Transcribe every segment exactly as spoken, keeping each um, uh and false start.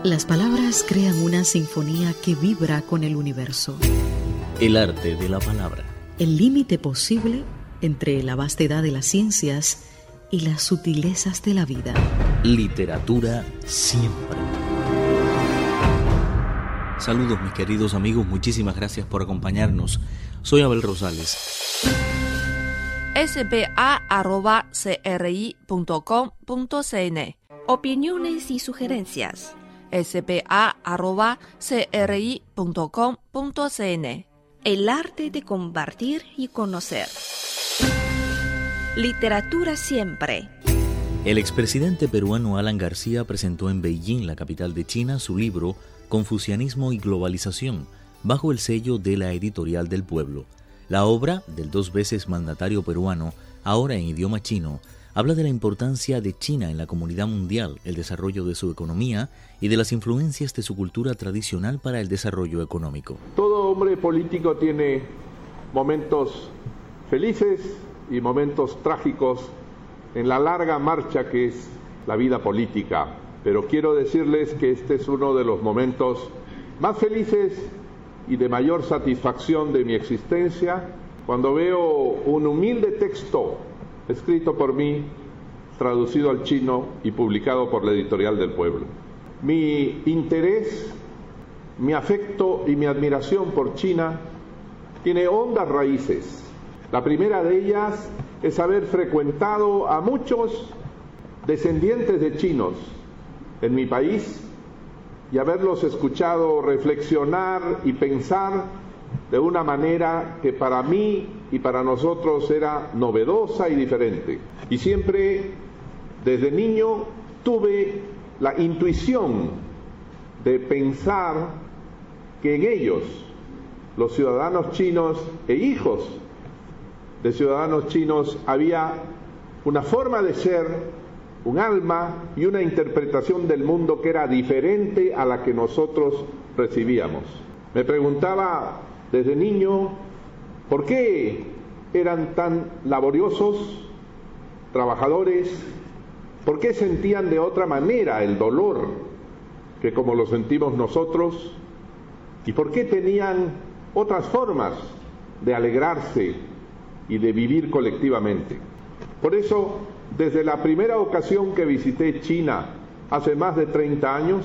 Las palabras crean una sinfonía que vibra con el universo. El arte de la palabra. El límite posible entre la vastedad de las ciencias y las sutilezas de la vida. Literatura siempre. Saludos mis queridos amigos, muchísimas gracias por acompañarnos. Soy Abel Rosales. s b a arroba c r i punto com punto c n. Opiniones y sugerencias. s b a arroba c r i punto com punto c n. El arte de compartir y conocer. Literatura siempre. El expresidente peruano Alan García presentó en Beijing, la capital de China, su libro Confucianismo y Globalización, bajo el sello de la Editorial del Pueblo. La obra del dos veces mandatario peruano, ahora en idioma chino, habla de la importancia de China en la comunidad mundial, el desarrollo de su economía y de las influencias de su cultura tradicional para el desarrollo económico. Todo hombre político tiene momentos felices y momentos trágicos en la larga marcha que es la vida política. Pero quiero decirles que este es uno de los momentos más felices y de mayor satisfacción de mi existencia, cuando veo un humilde texto escrito por mí, traducido al chino y publicado por la Editorial del Pueblo. Mi interés, mi afecto y mi admiración por China tiene hondas raíces. La primera de ellas es haber frecuentado a muchos descendientes de chinos en mi país y haberlos escuchado reflexionar y pensar de una manera que para mí y para nosotros era novedosa y diferente. Y siempre, desde niño, tuve la intuición de pensar que en ellos, los ciudadanos chinos e hijos de ciudadanos chinos, había una forma de ser, un alma y una interpretación del mundo que era diferente a la que nosotros recibíamos. Me preguntaba desde niño por qué eran tan laboriosos, trabajadores, por qué sentían de otra manera el dolor que como lo sentimos nosotros, y por qué tenían otras formas de alegrarse y de vivir colectivamente. Por eso, desde la primera ocasión que visité China, hace más de treinta años,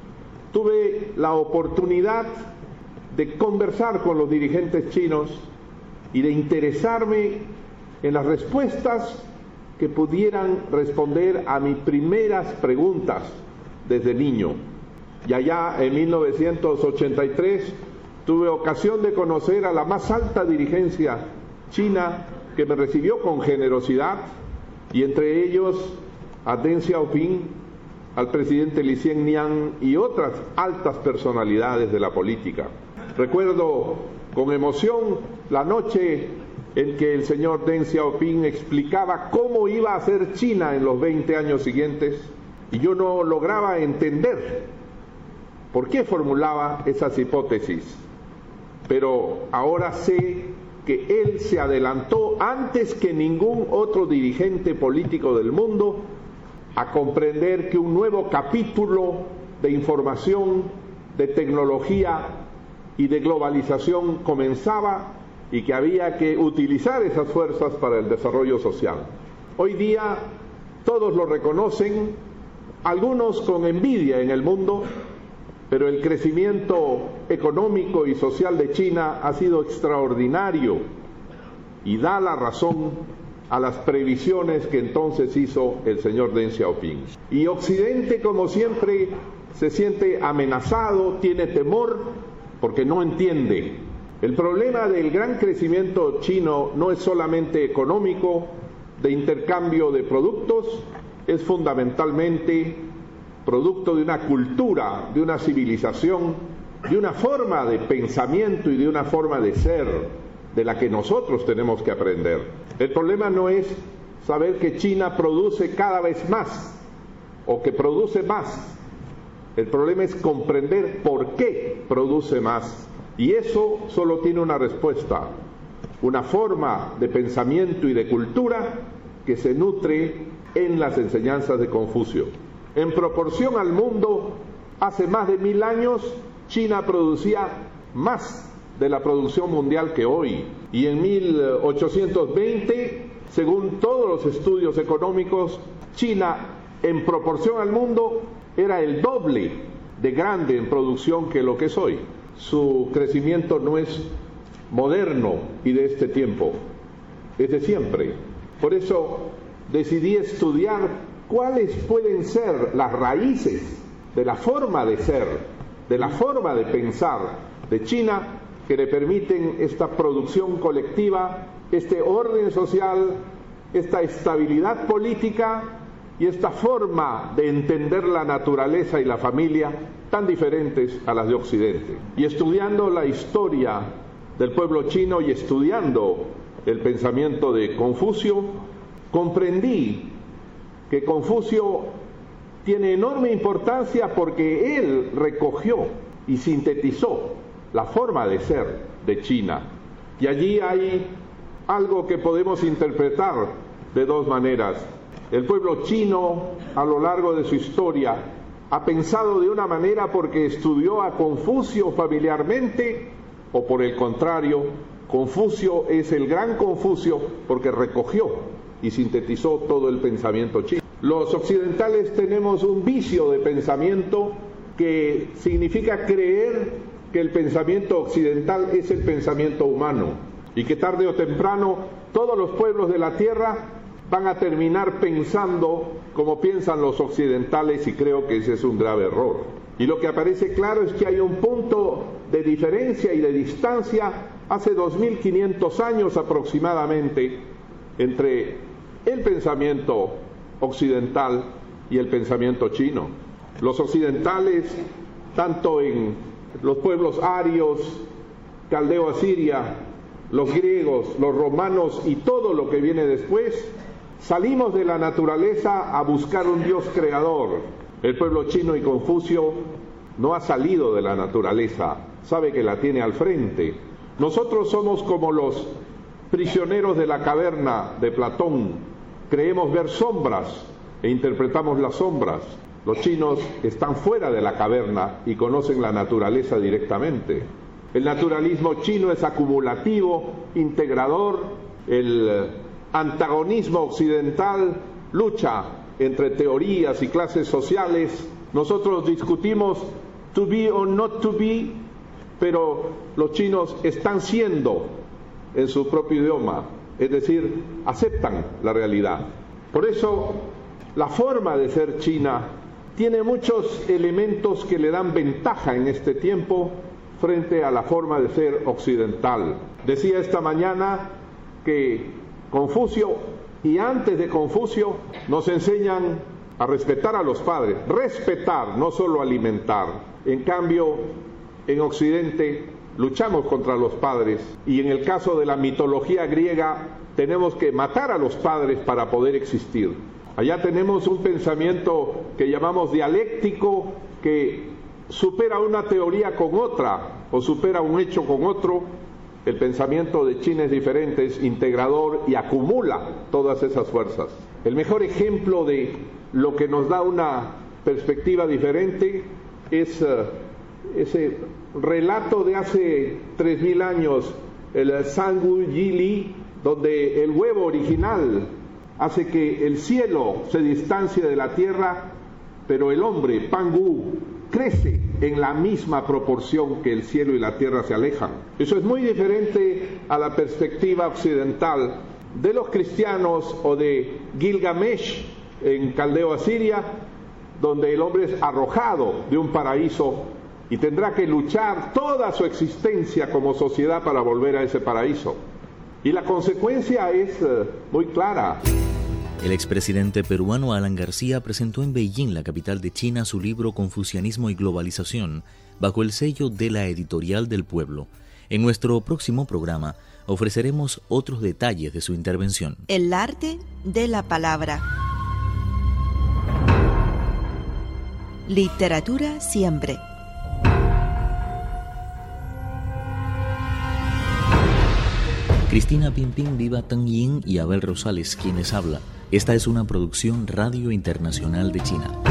tuve la oportunidad de conversar con los dirigentes chinos y de interesarme en las respuestas que pudieran responder a mis primeras preguntas desde niño. Y allá en mil novecientos ochenta y tres tuve ocasión de conocer a la más alta dirigencia china, que me recibió con generosidad, y entre ellos a Deng Xiaoping, al presidente Li Xianniang y otras altas personalidades de la política. Recuerdo con emoción la noche en que el señor Deng Xiaoping explicaba cómo iba a ser China en los veinte años siguientes, y yo no lograba entender por qué formulaba esas hipótesis. Pero ahora sé que él se adelantó antes que ningún otro dirigente político del mundo a comprender que un nuevo capítulo de información, de tecnología y de globalización comenzaba, y que había que utilizar esas fuerzas para el desarrollo social. Hoy día todos lo reconocen, algunos con envidia en el mundo, pero el crecimiento económico y social de China ha sido extraordinario y da la razón a las previsiones que entonces hizo el señor Deng Xiaoping. Y Occidente, como siempre, se siente amenazado, tiene temor, porque no entiende. El problema del gran crecimiento chino no es solamente económico, de intercambio de productos, es fundamentalmente producto de una cultura, de una civilización, de una forma de pensamiento y de una forma de ser, de la que nosotros tenemos que aprender. El problema no es saber que China produce cada vez más o que produce más. El problema es comprender por qué produce más. Y eso solo tiene una respuesta: una forma de pensamiento y de cultura que se nutre en las enseñanzas de Confucio. En proporción al mundo, Hace más de mil años, China producía más de la producción mundial que hoy. Y en mil ochocientos veinte, según todos los estudios económicos, China, en proporción al mundo, era el doble de grande en producción que lo que es hoy. Su crecimiento no es moderno y de este tiempo, es de siempre. Por eso decidí estudiar cuáles pueden ser las raíces de la forma de ser, de la forma de pensar de China, que le permiten esta producción colectiva, este orden social, esta estabilidad política y esta forma de entender la naturaleza y la familia tan diferentes a las de Occidente. Y estudiando la historia del pueblo chino y estudiando el pensamiento de Confucio, comprendí que Confucio tiene enorme importancia porque él recogió y sintetizó la forma de ser de China. Y allí hay algo que podemos interpretar de dos maneras. El pueblo chino, a lo largo de su historia, ha pensado de una manera porque estudió a Confucio familiarmente, o por el contrario, Confucio es el gran Confucio porque recogió y sintetizó todo el pensamiento chino. Los occidentales tenemos un vicio de pensamiento que significa creer que el pensamiento occidental es el pensamiento humano y que tarde o temprano todos los pueblos de la tierra van a terminar pensando como piensan los occidentales, y creo que ese es un grave error. Y lo que aparece claro es que hay un punto de diferencia y de distancia hace dos mil quinientos años aproximadamente entre el pensamiento occidental y el pensamiento chino. Los occidentales, tanto en los pueblos arios, caldeo-asiria, los griegos, los romanos y todo lo que viene después, salimos de la naturaleza a buscar un Dios creador. El pueblo chino y Confucio no ha salido de la naturaleza, sabe que la tiene al frente. Nosotros somos como los prisioneros de la caverna de Platón. Creemos ver sombras e interpretamos las sombras. Los chinos están fuera de la caverna y conocen la naturaleza directamente. El naturalismo chino es acumulativo, integrador. El antagonismo occidental lucha entre teorías y clases sociales. Nosotros discutimos to be or not to be, pero los chinos están siendo en su propio idioma. Es decir, aceptan la realidad. Por eso, la forma de ser China tiene muchos elementos que le dan ventaja en este tiempo frente a la forma de ser occidental. Decía esta mañana que Confucio y antes de Confucio nos enseñan a respetar a los padres, respetar, no solo alimentar. En cambio, en Occidente luchamos contra los padres y en el caso de la mitología griega tenemos que matar a los padres para poder existir. Allá tenemos un pensamiento que llamamos dialéctico, que supera una teoría con otra o supera un hecho con otro. El pensamiento de China es diferente, es integrador y acumula todas esas fuerzas. El mejor ejemplo de lo que nos da una perspectiva diferente es uh, ese relato de hace tres mil años, el Sangu Yili, donde el huevo original hace que el cielo se distancie de la tierra, pero el hombre, Pangu, crece en la misma proporción que el cielo y la tierra se alejan. Eso es muy diferente a la perspectiva occidental de los cristianos o de Gilgamesh en Caldeo-Asiria, donde el hombre es arrojado de un paraíso y tendrá que luchar toda su existencia como sociedad para volver a ese paraíso. Y la consecuencia es uh, muy clara. El expresidente peruano Alan García presentó en Beijing, la capital de China, su libro Confucianismo y Globalización, bajo el sello de la Editorial del Pueblo. En nuestro próximo programa ofreceremos otros detalles de su intervención. El arte de la palabra. Literatura siempre. Cristina Pimpín, Viva Tang Yin y Abel Rosales, quienes habla. Esta es una producción Radio Internacional de China.